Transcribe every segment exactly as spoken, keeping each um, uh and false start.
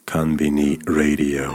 Convini Radio.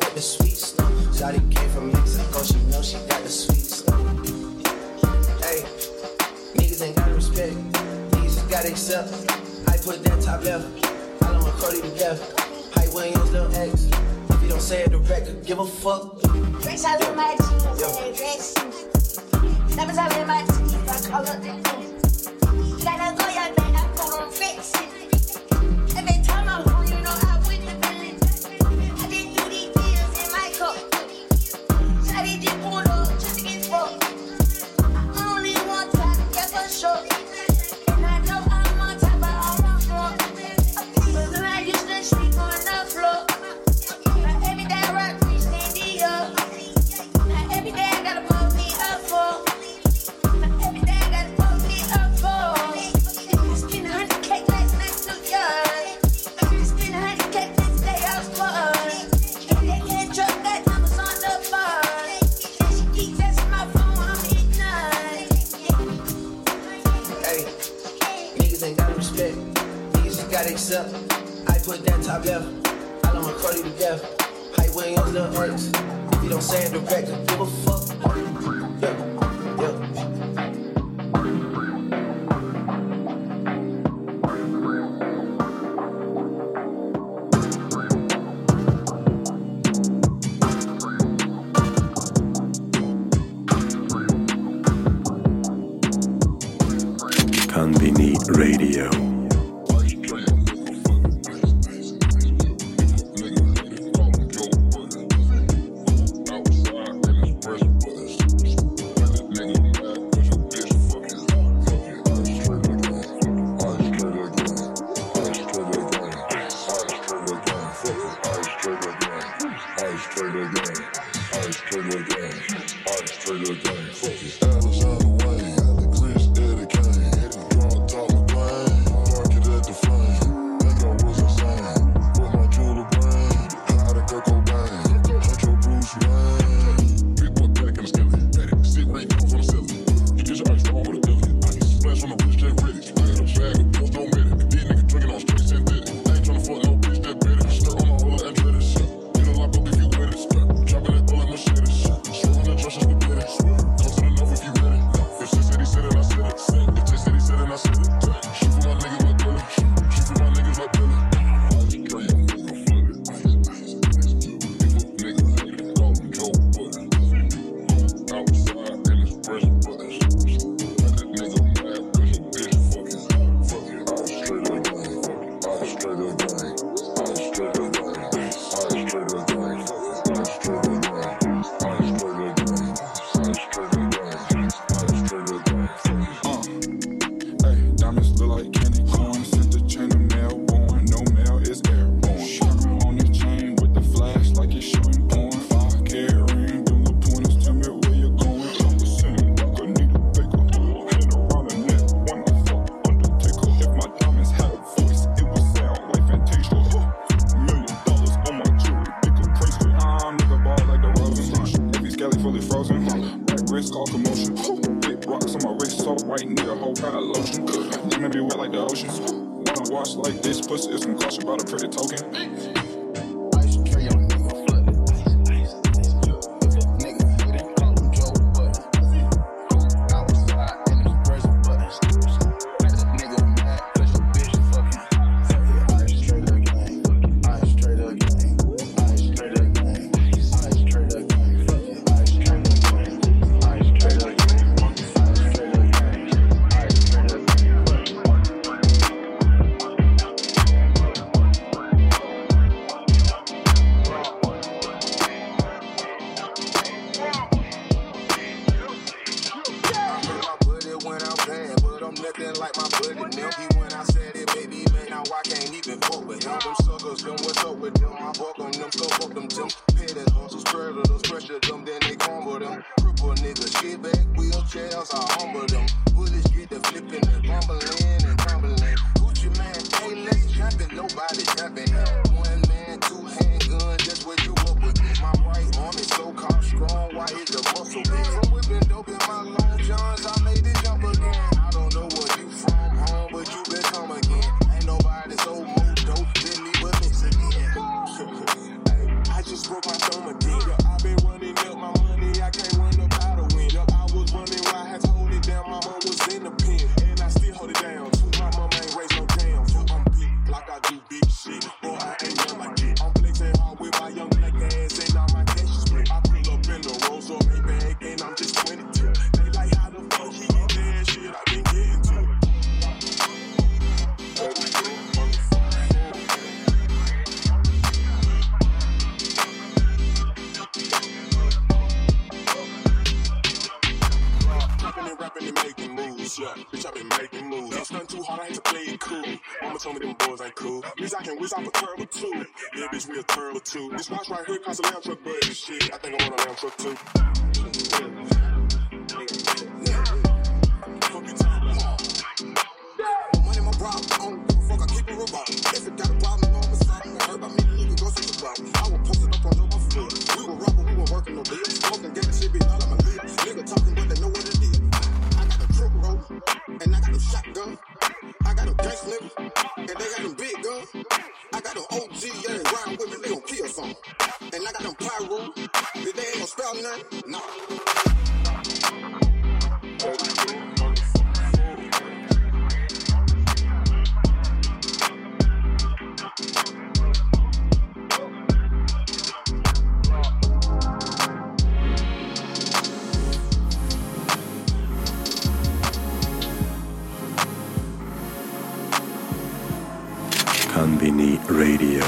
Shawty came from Mexico, she know she got the sweet stuff. Hey. accept. I put that top left. I love McCurdy to death. Hype Williams, little X. If you don't say it direct, give a fuck. Fresh out of my jeans and a dress. Never out in my teeth, I call up the food. Gotta go, young man, I put on fix it. Every time I'm home, you know I win the billing. I did do these deals in my cup. Shawty just pulled up just to get fucked. I only want time, yeah, for sure. And I know I'm on top, but I want more. But then I used to sleep on the floor. Now every day I rock, we stand it up. Now every day I gotta pull me up for. Now every day I gotta pull me up for. I spend a hundred K last night to York. I spend a hundred K this day I was fucked. And they can't trust that numbers on the bar. And she keep texting my phone, I'm eating none. Hey, niggas ain't got respect. Niggas just gotta accept. I put that top left. I love McCurdy to death. Hype Williams, little X. If you don't say it direct, give a fuck. Yeah, yeah. Convini Radio. Down, too. My mama ain't raised rapping and making moves. Yeah, bitch, I been making moves. It's nothing too hard, I had to play it cool. Mama told me them boys ain't cool. Bitch, I can whiz off a turtle too. Yeah, bitch, we a turtle too. This box right here costs a lamb truck, but shit, I think I want a lamb truck too. Money, my problem. I don't give a fuck, I keep it robot. If it got a problem, know what's up. I heard about me, nigga, go switch the problem. I was posted up on your foot. We were robbing, we were working no deal. Smoking, getting shit, be all on my lip. Nigga talking, but they know what it is. I got a truck roll, and I got a shotgun. I got a gas nigga, and they got them big guns. I got them O G, yeah, they ride with me, they gon' kill something. And I got them pyro, if they ain't gon' spell nothing, nah. Konbini Radio.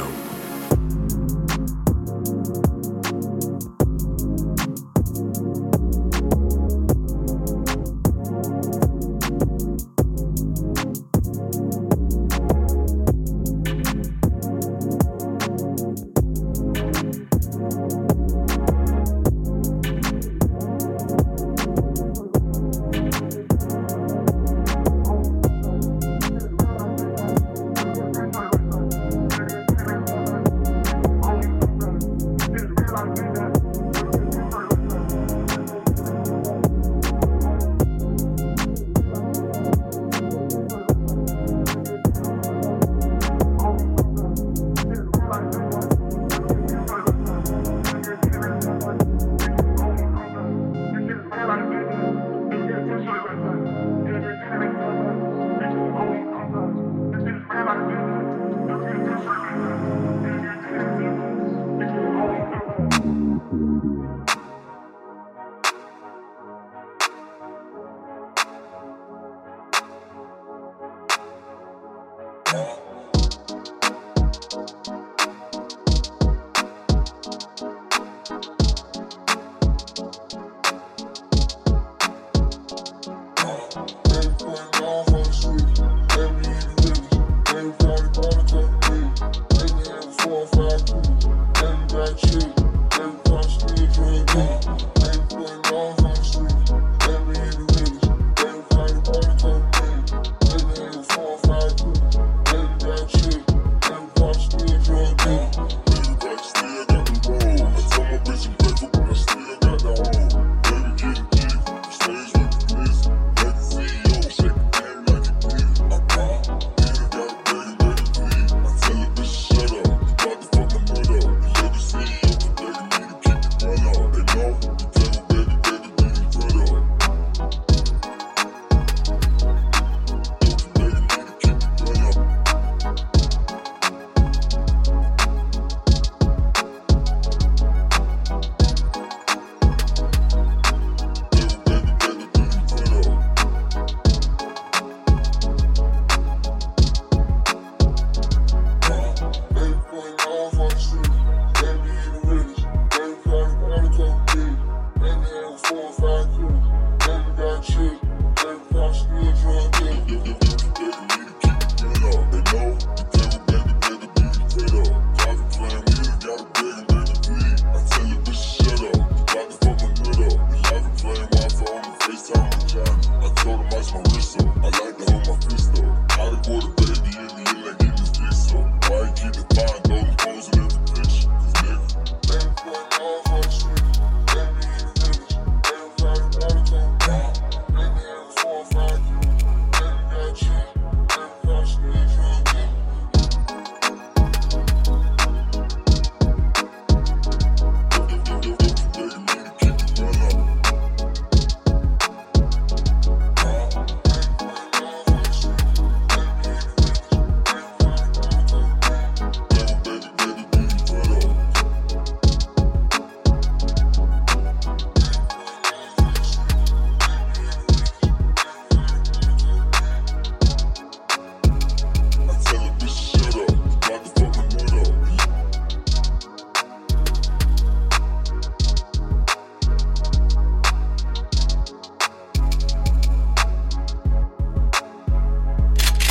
Every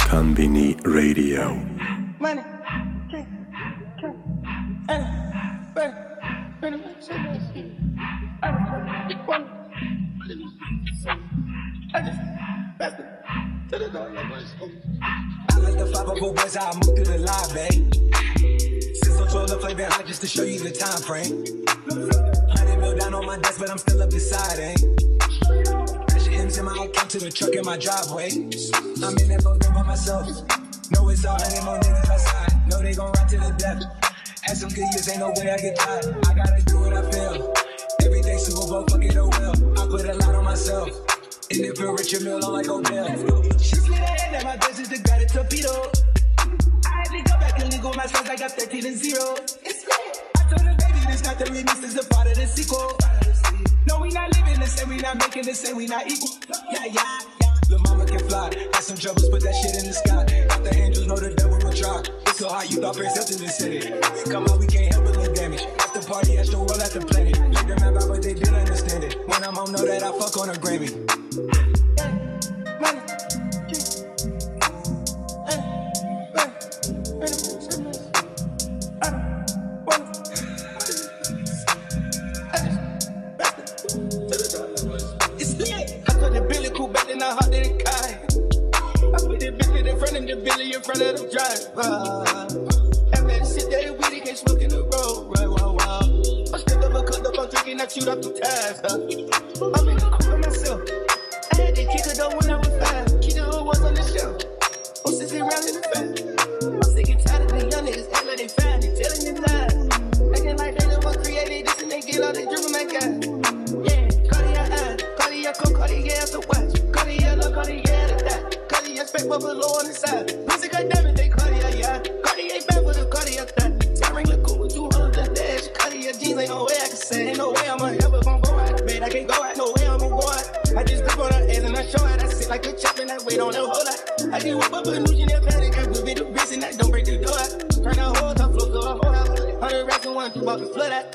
Conbini Radio. Money, drink, drink, and burn, burn, burn, I just passed it to the door. I like the five oh four boys, how I move through the line, babe. Since I'm twelve, play been hot just to show you the time frame. Hundred mil down on my desk, but I'm still up beside, eh? Cash M's in my account to the truck in my driveway. I'm in that boat by myself. Know it's all hundred more niggas outside. Know they gon' ride to the death. Had some good years, ain't no way I get tired. I gotta do what I feel. Every day Super Bowl, fuck it, oh well. I put a lot on myself. And if a richer meal, I'm like Odell. She slid her head at my business to got a torpedo. I had to go back and legal my sons, I got thirteen and zero. It's lit. I told her, baby, this not the remix, this is a part of the sequel. No, we not living the same, we not making the same, we not equal. Yeah, yeah, yeah. Lil' mama can fly. Had some troubles, put that shit in the sky. Got the angels, know the devil will try. It's so hot, you thought Prince Hilton in the city. Come out, we can't help but look damage. After party, at the world, at the planet. Let them map out, but they didn't understand it. When I'm home, know that I fuck on a Grammy. Money, I hot didn't kai. I put the bitch in front of the Billy in front of the driver. And that shit that it weedy can't smoke in the road. Right, wow, wow. I stepped up, I cut up, I'm drinking, I chewed up the ties. Huh? I'm in the cook for myself. I had to kick her though when I was five. Keep the hood was on the shelf. I'm sitting around in the back. I'm sick and tired of the young niggas act like they fine. They telling me lies. Acting like they never created this and they get all they driven my guy. Yeah, Cartier eyes, Cartier coke, Cartier after watch. Cartier love, Cartier to that. Cartier spec bubble low on the side. Music got damage, they Cartier, yeah. Cartier back with a Cartier that. I ring the cool with two hundred the dash. Cartier jeans, ain't no way I can say. Ain't no way I'm ever gonna go out. Man, I can't go out, no way I'm gonna go out. I just grip on her ass and I show her. I sit like a chop and I wait on her whole lot. I just whip up a new Chanel panic. I whip it a wrist and I don't break the door out. Turn the whole top floor to a whole house. Hundred racks and one, two bought the flood out.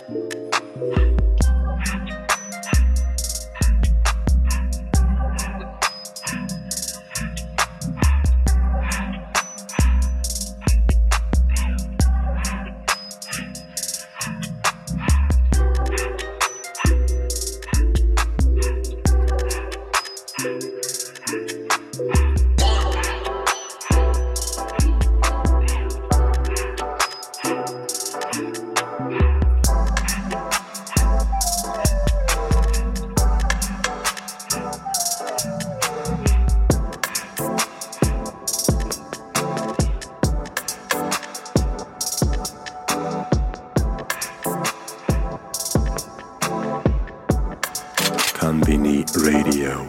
Conbini Radio.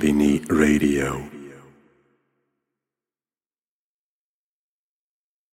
Bambini Radio.